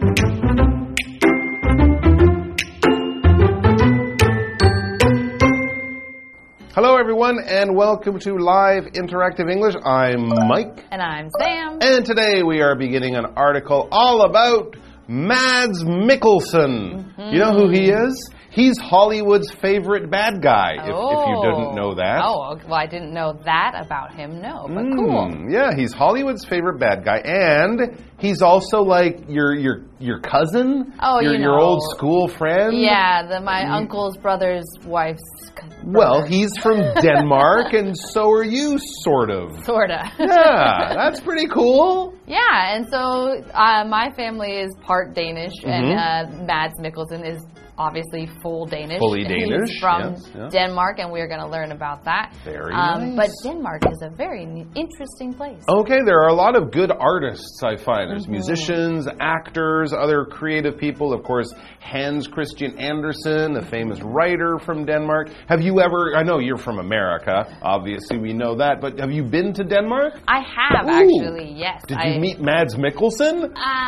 Hello, everyone, and welcome to Live Interactive English. I'm Mike. And I'm Sam. And today we are beginning an article all about Mads Mikkelsen. You know who he is? He's Hollywood's favorite bad guy, if you didn't know that. Oh, well, I didn't know that about him, no, but cool. Yeah, he's Hollywood's favorite bad guy, and he's also like your cousin, your old school friend. Yeah, my uncle's brother's wife's brother. Well, he's from Denmark, and so are you, sort of. Sorta. Yeah, that's pretty cool. Yeah, and so my family is part Danish, and Mads Mikkelsen is obviously full Danish. Fully Danish. He's from Denmark, and we're going to learn about that. Very nice. But Denmark is a very interesting place. Okay, there are a lot of good artists, I find. There's musicians, actors, other creative people. Of course, Hans Christian Andersen, the famous writer from Denmark. Have you ever, I know you're from America, obviously we know that, but have you been to Denmark? I have, actually, yes. Did you meet Mads Mikkelsen?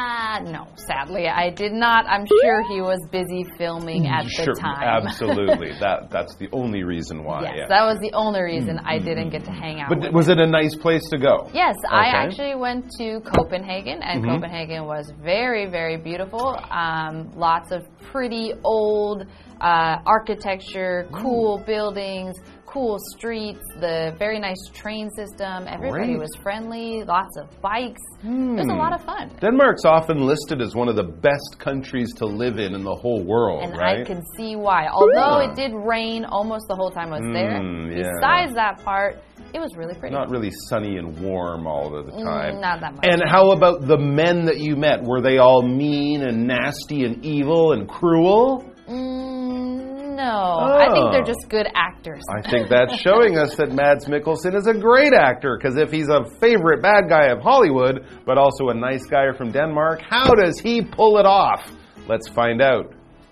No, sadly, I did not. I'm sure he was busy filming at the time. Absolutely. That's the only reason why. Yes, that was the only reason I didn't get to hang out. But was it a nice place to go? Yes, I actually went to Copenhagen, and Copenhagen was very, very beautiful. Lots of pretty old architecture, cool buildings, cool streets, the very nice train system. Everybody was friendly, lots of bikes. It was a lot of fun. Denmark's often listed as one of the best countries to live in the whole world, and right? I can see why. Although it did rain almost the whole time I was there, besides that part, it was really pretty. Not really sunny and warm all of the time. Not that much. And how about the men that you met? Were they all mean and nasty and evil and cruel? No, I think they're just good actors. I think that's showing us that Mads Mikkelsen is a great actor, because if he's a favorite bad guy of Hollywood, but also a nice guy from Denmark, how does he pull it off? Let's find out.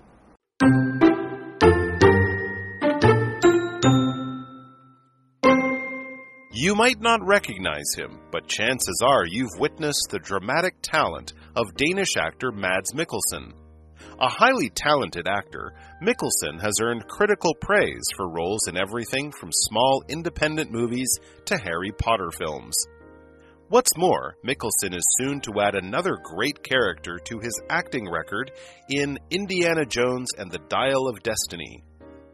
You might not recognize him, but chances are you've witnessed the dramatic talent of Danish actor Mads Mikkelsen. A highly talented actor, Mikkelsen has earned critical praise for roles in everything from small independent movies to Harry Potter films. What's more, Mikkelsen is soon to add another great character to his acting record in Indiana Jones and the Dial of Destiny.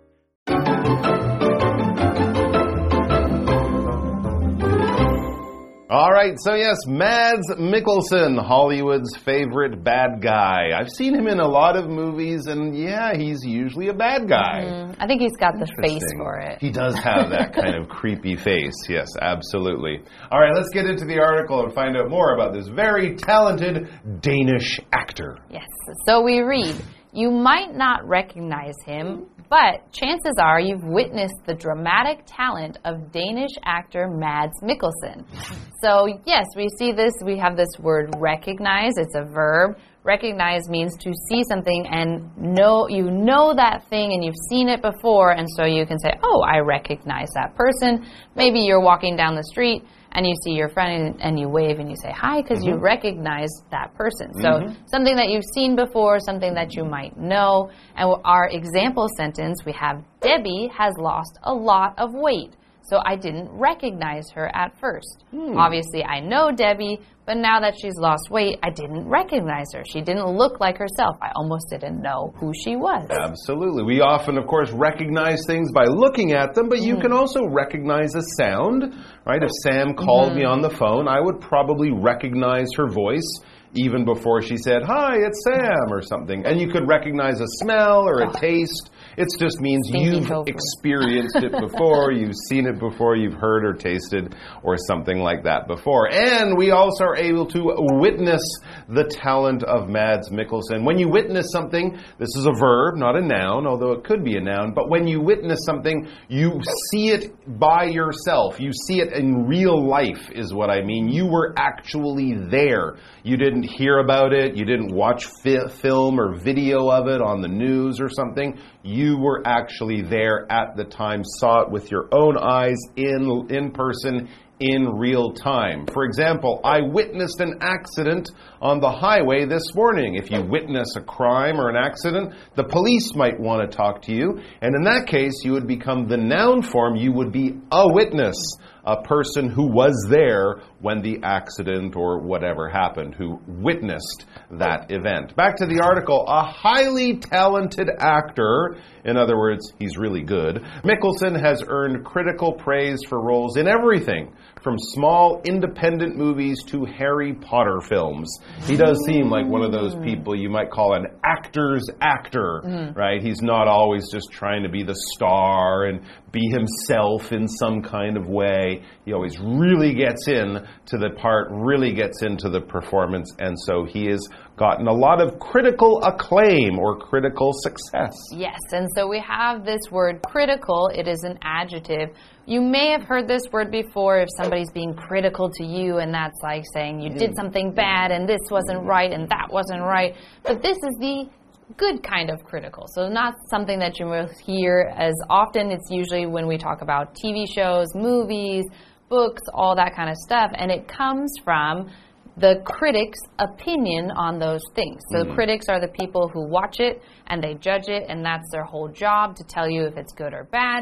All right, so yes, Mads Mikkelsen, Hollywood's favorite bad guy. I've seen him in a lot of movies, and yeah, he's usually a bad guy. I think he's got the face for it. He does have that kind of creepy face. Yes, absolutely. All right, let's get into the article and find out more about this very talented Danish actor. Yes, so we read, you might not recognize him, but chances are you've witnessed the dramatic talent of Danish actor Mads Mikkelsen. So yes, we see this, we have this word recognize, it's a verb. Recognize means to see something and you know that thing and you've seen it before, and so you can say, oh, I recognize that person. Maybe you're walking down the street and you see your friend and you wave and you say hi because you recognize that person. So something that you've seen before, something that you might know. And our example sentence, we have Debbie has lost a lot of weight. So I didn't recognize her at first. Obviously, I know Debbie, but now that she's lost weight, I didn't recognize her. She didn't look like herself. I almost didn't know who she was. Absolutely. We often, of course, recognize things by looking at them, but you can also recognize a sound, right? If Sam called me on the phone, I would probably recognize her voice even before she said, hi, it's Sam, or something. And you could recognize a smell or a taste. It just means you've experienced it before, you've seen it before, you've heard or tasted or something like that before. And we also are able to witness the talent of Mads Mikkelsen. When you witness something, this is a verb, not a noun, although it could be a noun, but when you witness something, you see it by yourself. You see it in real life is what I mean. You were actually there. You didn't hear about it, you didn't watch film or video of it on the news or something. You were actually there at the time, saw it with your own eyes in person in real time. For example, I witnessed an accident on the highway this morning. If you witness a crime or an accident, the police might want to talk to you. And in that case, you would become the noun form. You would be a witness, a person who was there when the accident or whatever happened, who witnessed that event. Back to the article. A highly talented actor, in other words, he's really good, Mikkelsen has earned critical praise for roles in everything, from small independent movies to Harry Potter films. He does seem like one of those people you might call an actor's actor, right? He's not always just trying to be the star and be himself in some kind of way. He always really gets in to the part, really gets into the performance, and so he has gotten a lot of critical acclaim or critical success. Yes, and so we have this word critical. It is an adjective. You may have heard this word before if somebody's being critical to you, and that's like saying you did something bad and this wasn't right and that wasn't right. But this is the good kind of critical. So not something that you will hear as often. It's usually when we talk about TV shows, movies, books, all that kind of stuff. And it comes from the critic's opinion on those things. So the critics are the people who watch it and they judge it, and that's their whole job, to tell you if it's good or bad.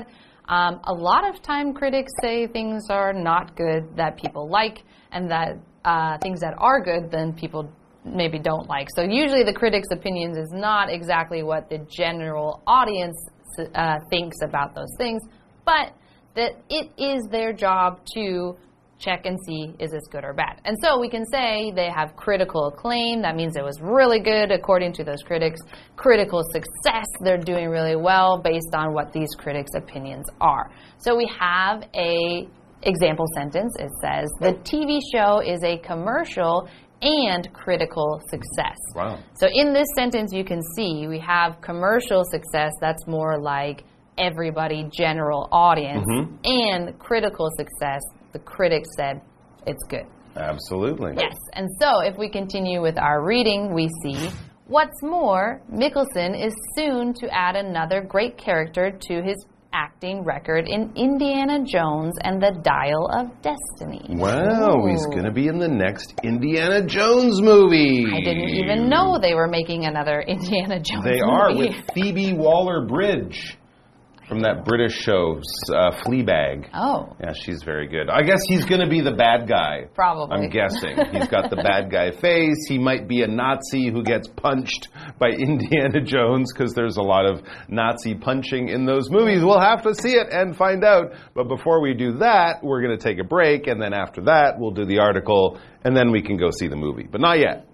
A lot of time critics say things are not good that people like, and that things that are good then people maybe don't like. So usually the critic's opinions is not exactly what the general audience thinks about those things, but that it is their job to check and see, is this good or bad? And so we can say they have critical acclaim. That means it was really good according to those critics. Critical success, they're doing really well based on what these critics' opinions are. So we have a example sentence. It says, the TV show is a commercial and critical success. Wow. So in this sentence, you can see we have commercial success. That's more like everybody, general audience, and critical success. The critics said it's good. Absolutely. Yes. And so if we continue with our reading, we see, what's more, Mikkelsen is soon to add another great character to his acting record in Indiana Jones and the Dial of Destiny. Wow, he's going to be in the next Indiana Jones movie. I didn't even know they were making another Indiana Jones movie. They are, with Phoebe Waller-Bridge from that British show, Fleabag. Oh. Yeah, she's very good. I guess he's going to be the bad guy. Probably. I'm guessing. He's got the bad guy face. He might be a Nazi who gets punched by Indiana Jones, because there's a lot of Nazi punching in those movies. We'll have to see it and find out. But before we do that, we're going to take a break, and then after that, we'll do the article, and then we can go see the movie. But not yet.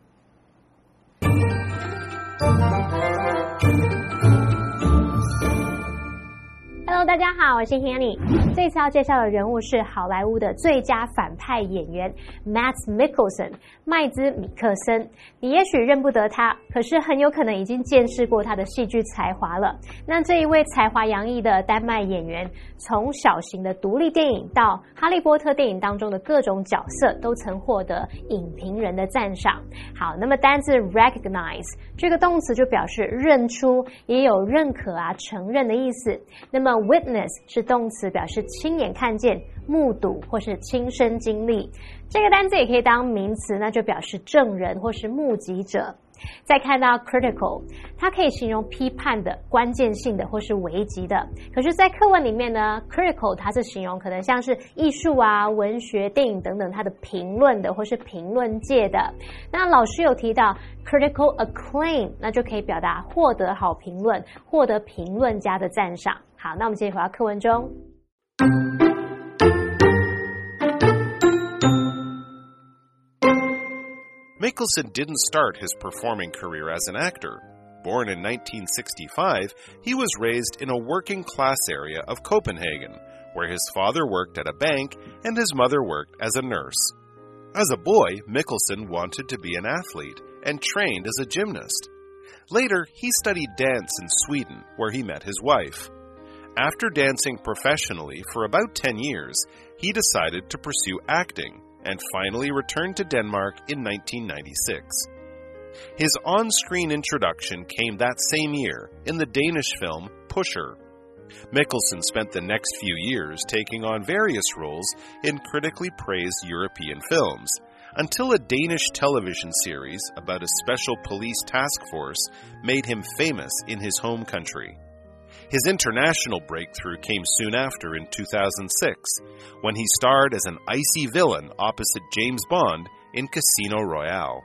Hello， 大家好，我是 Hanny。这次要介紹的人物是好萊塢的最佳反派演員 Mads Mikkelsen， 麥茲米克森。你也許認不得他，可是很有可能已經見識過他的戲劇才華了。那這一位才華洋溢的丹麥演員，從小型的獨立電影到哈利波特電影當中的各種角色，都曾獲得影評人的讚賞。好，那麼單字 recognize 這個動詞就表示認出，也有認可啊、承認的意思。那麼 witness 是動詞，表示親眼看見、目睹或是親身經歷。這個單字也可以當名詞，那就表示證人或是目擊者。再看到 critical， 它可以形容批判的、關鍵性的或是危急的。可是在課文裡面呢， critical 它是形容可能像是藝術啊、文學、電影等等它的評論的或是評論界的。那老師有提到 critical acclaim， 那就可以表達獲得好評論、獲得評論家的讚賞。好，那我們繼續回到課文中。 Mikkelsen didn't start his performing career as an actor. Born in 1965, he was raised in a working-class area of Copenhagen, where his father worked at a bank and his mother worked as a nurse. As a boy, Mikkelsen wanted to be an athlete and trained as a gymnast. Later, he studied dance in Sweden, where he met his wife. After dancing professionally for about 10 years, he decided to pursue acting, and finally returned to Denmark in 1996. His on-screen introduction came that same year in the Danish film Pusher. Mikkelsen spent the next few years taking on various roles in critically praised European films, until a Danish television series about a special police task force made him famous in his home country. His international breakthrough came soon after in 2006, when he starred as an icy villain opposite James Bond in Casino Royale.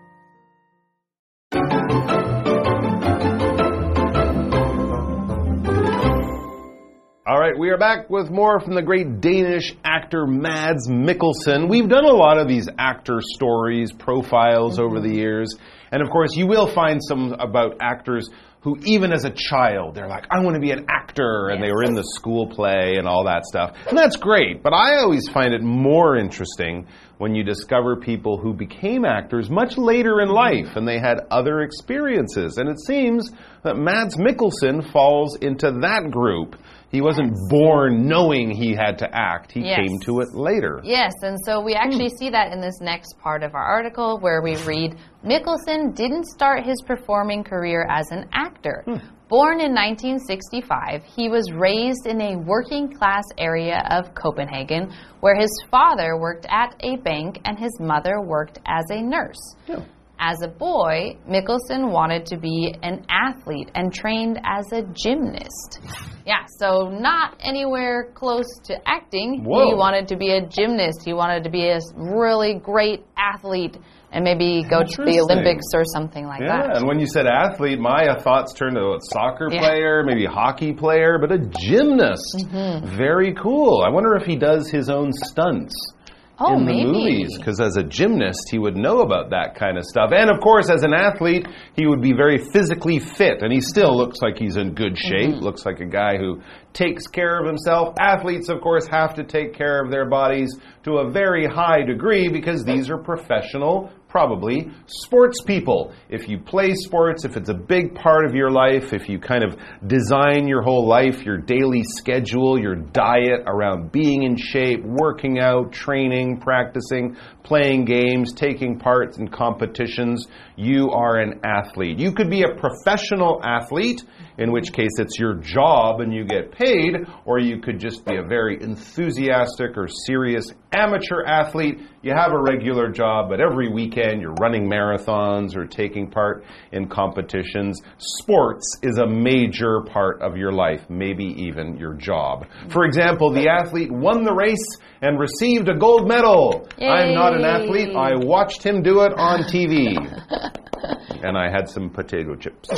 All right, we are back with more from the great Danish actor Mads Mikkelsen. We've done a lot of these actor stories, profiles over the years. And of course, you will find some about actors who, even as a child, they're like, I want to be an actor. And they were in the school play and all that stuff. And that's great. But I always find it more interesting when you discover people who became actors much later in life and they had other experiences. And it seems that Mads Mikkelsen falls into that group. He wasn't born knowing he had to act. He came to it later. Yes, and so we actually see that in this next part of our article where we read, Mikkelsen didn't start his performing career as an actor. Born in 1965, he was raised in a working-class area of Copenhagen where his father worked at a bank and his mother worked as a nurse. As a boy, Mikkelsen wanted to be an athlete and trained as a gymnast. Yeah, so not anywhere close to acting. Whoa. He wanted to be a gymnast. He wanted to be a really great athlete and maybe go to the Olympics or something like that. Yeah, and when you said athlete, my thoughts turned to a soccer player, maybe a hockey player, but a gymnast. Very cool. I wonder if he does his own stunts. In the movies, because as a gymnast, he would know about that kind of stuff. And of course, as an athlete, he would be very physically fit, and he still looks like he's in good shape, looks like a guy who takes care of himself. Athletes, of course, have to take care of their bodies to a very high degree because these are professional, probably, sports people. If you play sports, if it's a big part of your life, if you kind of design your whole life, your daily schedule, your diet around being in shape, working out, training, practicing, playing games, taking part in competitions, you are an athlete. You could be a professional athlete, in which case it's your job and you get paid, or you could just be a very enthusiastic or serious amateur athlete. You have a regular job, but every weekend you're running marathons or taking part in competitions. Sports is a major part of your life, maybe even your job. For example, the athlete won the race and received a gold medal. Yay. I'm not an athlete. I watched him do it on TV. And I had some potato chips.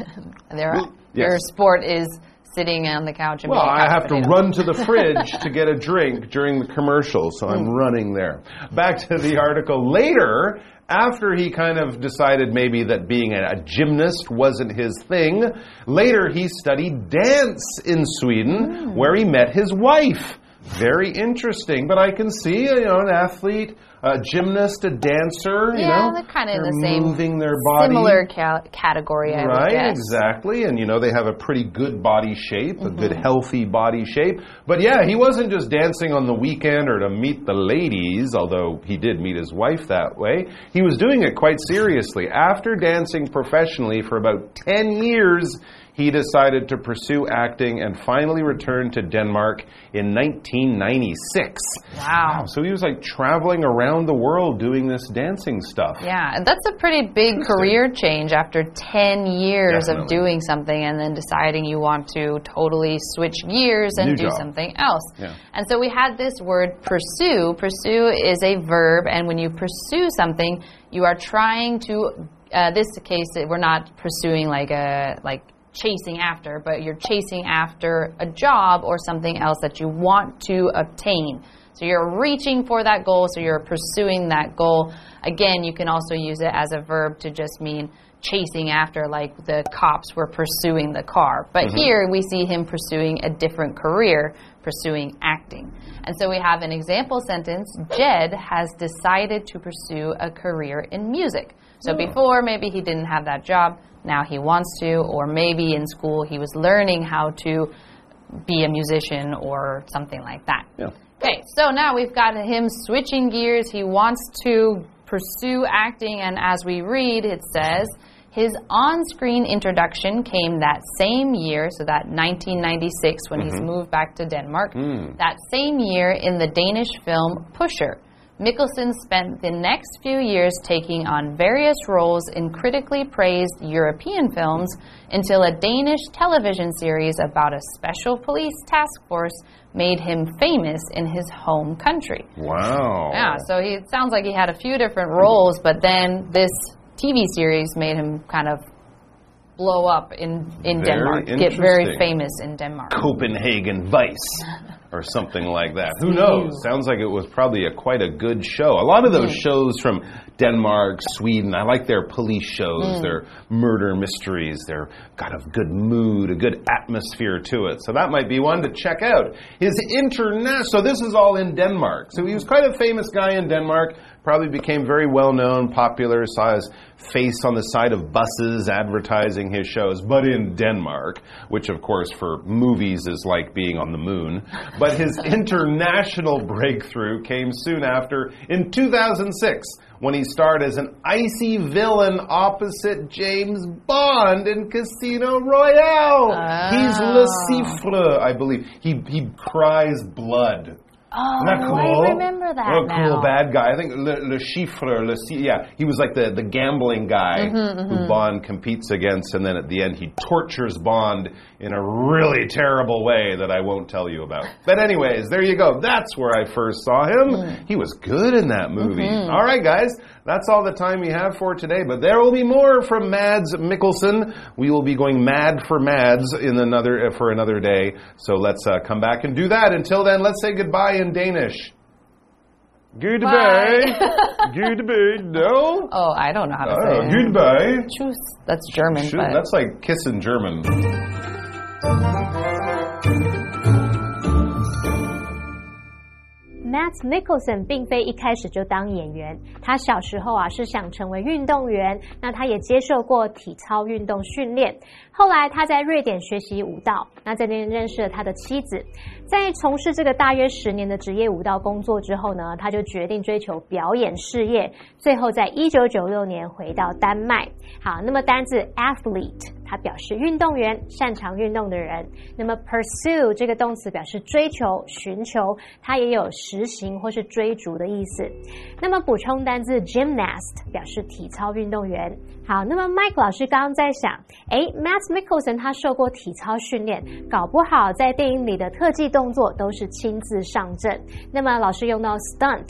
Your sport is sitting on the couch and being a I have potato. to run to the fridge to get a drink during the commercial, so I'm running there. Back to the article. Later, after he kind of decided maybe that being a gymnast wasn't his thing, later he studied dance in Sweden, where he met his wife. Very interesting, but I can see, an athlete, a gymnast, a dancer, they're kind of in the same moving their body. Similar category, I would guess. Exactly, and they have a pretty good body shape, a good healthy body shape. But yeah, he wasn't just dancing on the weekend or to meet the ladies, although he did meet his wife that way. He was doing it quite seriously. After dancing professionally for about 10 years, he decided to pursue acting and finally returned to Denmark in 1996. Wow. So he was like traveling around the world doing this dancing stuff. Yeah, and that's a pretty big career change after 10 years of doing something and then deciding you want to totally switch gears and do something else. Yeah. And so we had this word pursue. Pursue is a verb, and when you pursue something, you are trying to, this case, we're not pursuing like chasing after, but you're chasing after a job or something else that you want to obtain. So you're reaching for that goal, so you're pursuing that goal. Again, you can also use it as a verb to just mean chasing after, like the cops were pursuing the car. But here we see him pursuing a different career, pursuing acting. And so we have an example sentence, Jed has decided to pursue a career in music. So before, maybe he didn't have that job. Now he wants to, or maybe in school he was learning how to be a musician or something like that. Yeah. Okay, so now we've got him switching gears. He wants to pursue acting, and as we read, it says, His on-screen introduction came that same year, so that 1996 when he's moved back to Denmark. That same year in the Danish film Pusher. Mikkelsen spent the next few years taking on various roles in critically praised European films until a Danish television series about a special police task force made him famous in his home country. Wow. Yeah, so it sounds like he had a few different roles, but then this TV series made him kind of blow up in Denmark, get very famous in Denmark. Copenhagen Vice or something like that. Who knows? Sounds like it was probably quite a good show. A lot of those shows from Denmark, Sweden, I like their police shows, their murder mysteries. They're got a good mood, a good atmosphere to it. So that might be one to check out. So this is all in Denmark. So he was quite a famous guy in Denmark. Probably became very well-known, popular, saw his face on the side of buses advertising his shows, but in Denmark, which of course for movies is like being on the moon. But his international breakthrough came soon after in 2006 when he starred as an icy villain opposite James Bond in Casino Royale. He's Le Chiffre, I believe. He cries blood. Oh, Isn't that cool? I remember that now. Cool bad guy. I think Le Chiffre, he was like the gambling guy who Bond competes against, and then at the end he tortures Bond in a really terrible way that I won't tell you about. But anyways, there you go. That's where I first saw him. He was good in that movie. All right, guys. That's all the time we have for today, but there will be more from Mads Mikkelsen. We will be going mad for Mads for another day. So let's come back and do that. Until then, let's say goodbye in Danish. Goodbye. Goodbye. No? Oh, I don't know how to say it. Goodbye. Tschüss. That's German. But... That's like kiss in German. Mads Mikkelsen 并非一開始就當演員，他小時候是想成為運動員，那他也接受過體操運動訓練。後來他在瑞典學習舞蹈，那在那邊認識了他的妻子。在從事這個大約10年的職業舞蹈工作之後呢，他就決定追求表演事業，最後在1996年回到丹麥。好，那麼單字 athlete 它表示運動員，擅長運動的人。那麼 pursue 這個動詞表示追求、尋求，它也有實行或是追逐的意思。那麼補充單字 gymnast 表示體操運動員。好，那麼 Mike 老師剛剛在想Mads Mikkelsen 他受過體操訓練，搞不好在電影裡的特技動作都是親自上陣。那麼老師用到 stunt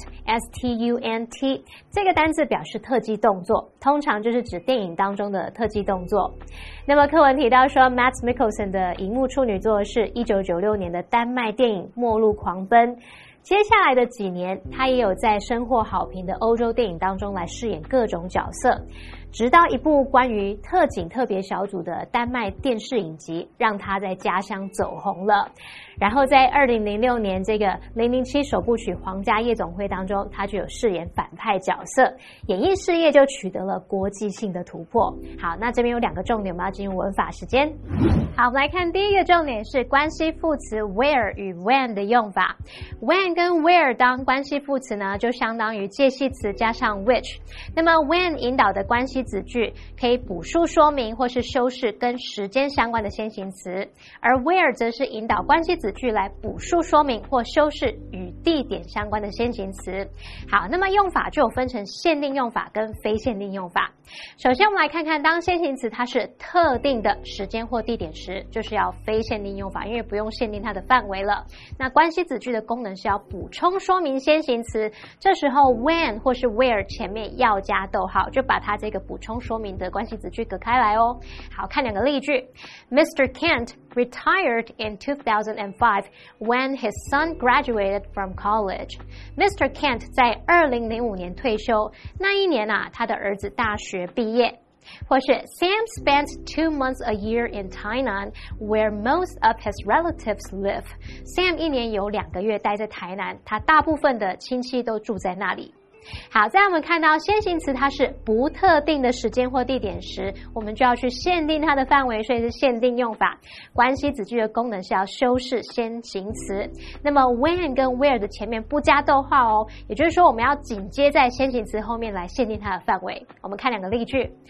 S-T-U-N-T 這個單字表示特技動作，通常就是指電影當中的特技動作。那麼課文提到說 Mads Mikkelsen 的熒幕處女作是1996年的丹麥電影《末路狂奔》。接下來的幾年，他也有在深獲好評的歐洲電影當中來飾演各種角色，直到一部關於特警特別小組的丹麥電視影集，讓他在家鄉走紅了。然後在2006年這個007首部曲《皇家夜總會》當中，他就有飾演反派角色，演藝事業就取得了國際性的突破。好，那這邊有2個重點，我們要進入文法時間。好，我們來看第一個重點是關係副詞 where 與 when 的用法。when 跟 where 當關係副詞呢，就相當於介系詞加上 which。那麼 when 引導的關係子句可以補述說明或是修飾跟時間相關的先行詞，而 where 則是引導關係子句來補述說明或修飾與地點相關的先行詞。好，那麼用法就有分成限定用法跟非限定用法。首先我們來看看，當先行詞它是特定的時間或地點時，就是要非限定用法，因為不用限定它的範圍了。那關係子句的功能是要補充說明先行詞，這時候 when 或是 where 前面要加逗號，就把它這個補充說明的關係子句隔開來哦。好，看2個例句。Mr. Kent retired in 2005 when his son graduated from college. Mr. Kent 在2005年退休，那一年他的兒子大學畢業。或是 Sam spent 2 months a year in Tainan, where most of his relatives live. Sam 1年有2個月待在台南，他大部分的親戚都住在那裡。好，再來我們看到先行詞它是不特定的時間或地點時，我們就要去限定它的範圍，所以是限定用法。關係子句的功能是要修飾先行詞。那麼 when 跟 where 的前面不加逗號哦，也就是說我們要緊接在先行詞後面來限定它的範圍。我們看2個例句。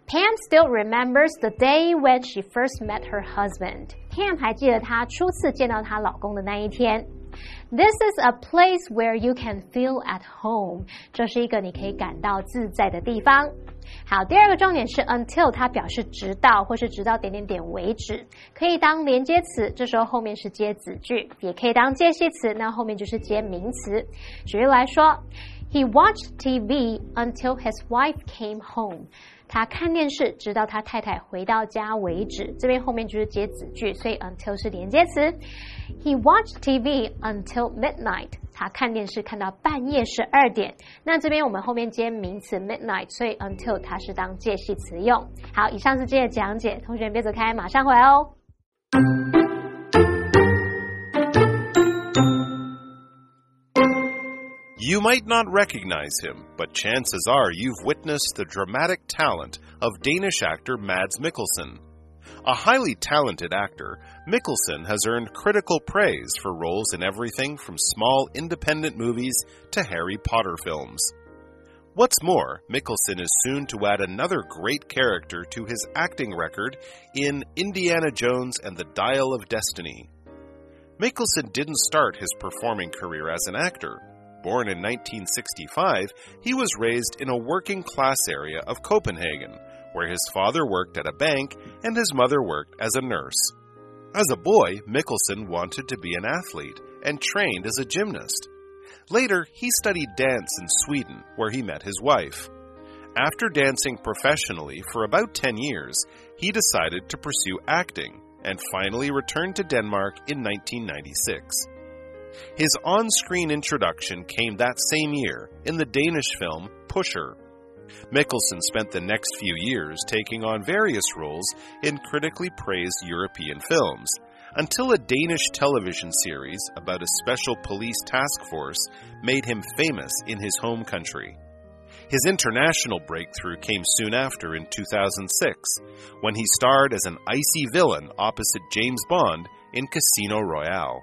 Pam still remembers the day when she first met her husband. Pam 還記得她初次見到她老公的那一天。This is a place where you can feel at home. 這是一個你可以感到自在的地方。好，第二個重點是 until 它表示直到或是直到點點點為止，可以當連接詞，這時候後面是接子句，也可以當介系詞，那後面就是接名詞。舉例來說 He watched TV until his wife came home. 他看電視直到他太太回到家為止，這邊後面就是接子句，所以 until 是連接詞。He watched TV until midnight. 他看電視看到半夜12點。那這邊我們後面接名詞 midnight， 所以 until 它是當介系詞用。好，以上是今天的講解，同學別走開，馬上回來哦。 You might not recognize him, but chances are you've witnessed the dramatic talent of Danish actor Mads Mikkelsen. A highly talented actor, Mikkelsen has earned critical praise for roles in everything from small independent movies to Harry Potter films. What's more, Mikkelsen is soon to add another great character to his acting record in Indiana Jones and the Dial of Destiny. Mikkelsen didn't start his performing career as an actor. Born in 1965, he was raised in a working-class area of Copenhagen, where his father worked at a bank and his mother worked as a nurse. As a boy, Mikkelsen wanted to be an athlete and trained as a gymnast. Later, he studied dance in Sweden, where he met his wife. After dancing professionally for about 10 years, he decided to pursue acting and finally returned to Denmark in 1996. His on-screen introduction came that same year in the Danish film Pusher. Mikkelsen spent the next few years taking on various roles in critically praised European films, until a Danish television series about a special police task force made him famous in his home country. His international breakthrough came soon after in 2006, when he starred as an icy villain opposite James Bond in Casino Royale.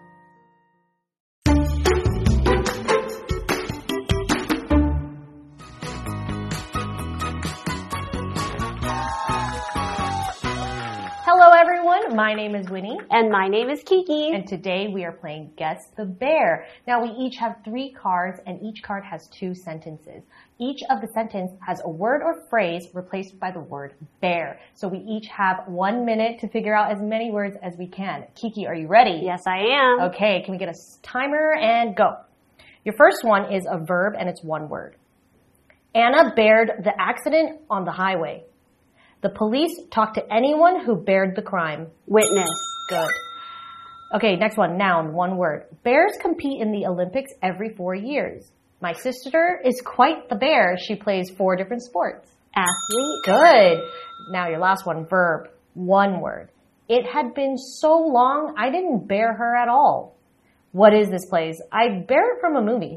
Hello everyone, my name is Winnie. And my name is Kiki. And today we are playing Guess the Bear. Now we each have 3 cards and each card has 2 sentences. Each of the sentences has a word or phrase replaced by the word bear. So we each have 1 minute to figure out as many words as we can. Kiki, are you ready? Yes, I am. Okay, can we get a timer and go. Your first one is a verb and it's 1 word. Anna bared the accident on the highway. The police talked to anyone who bared the crime. Witness. Good. Okay, next one. Noun, 1 word. Bears compete in the Olympics every 4 years. My sister is quite the bear. She plays 4 different sports. Athlete. Good. Now your last one. Verb, 1 word. It had been so long, I didn't bear her at all. What is this place? I bear it from a movie.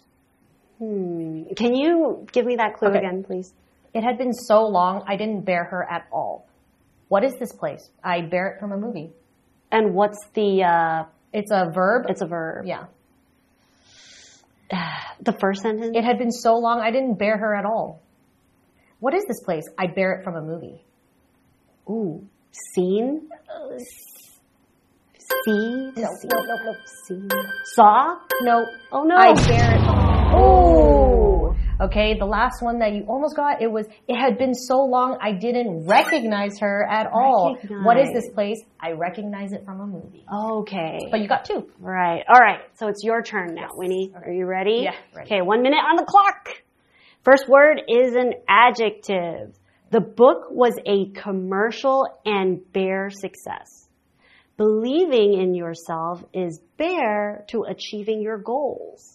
Can you give me that clue again, please? It had been so long, I didn't bear her at all. What is this place? I bear it from a movie. And what's the... It's a verb. It's a verb. Yeah. The first sentence? It had been so long, I didn't bear her at all. What is this place? I bear it from a movie. Ooh. Scene? See? No. Scene. Saw? No. Oh, no. I bear it. Oh. Okay, the last one that you almost got, it had been so long, I didn't recognize her at all. What is this place? I recognize it from a movie. Okay. But you got 2. Right. All right. So it's your turn now, Winnie. Are you ready? Yeah, ready. Okay, 1 minute on the clock. First word is an adjective. The book was a commercial and bare success. Believing in yourself is bare to achieving your goals.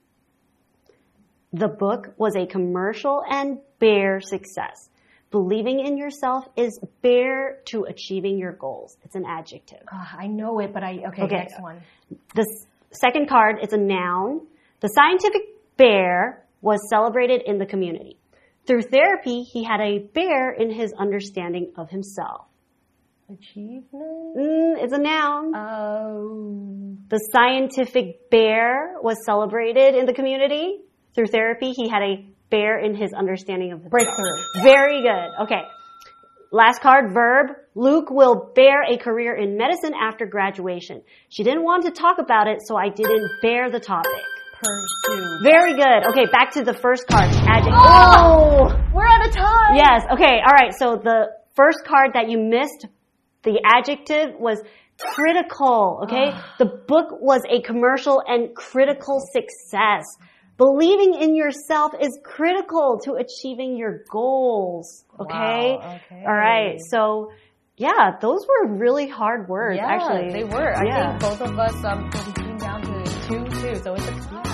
The book was a commercial and bare success. Believing in yourself is bare to achieving your goals. It's an adjective. I know it, but okay, next one. The second card is a noun. The scientific bear was celebrated in the community. Through therapy, he had a bear in his understanding of himself. Achievement? It's a noun. Oh. The scientific bear was celebrated in the community. Through therapy, he had a bear in his understanding of himself. Breakthrough. Very good. Okay. Last card, verb. Luke will bear a career in medicine after graduation. She didn't want to talk about it, so I didn't bear the topic. Pursue. Very good. Okay, back to the first card. Adjective. Oh! We're out of time! Yes, okay, alright. So the first card that you missed, the adjective was critical, okay? The book was a commercial and critical success. Believing in yourself is critical to achieving your goals, okay? Wow, okay. All right, so yeah, those were really hard words, Yeah, actually. they were. Yeah. I think both of us came down to 2, too, so it's a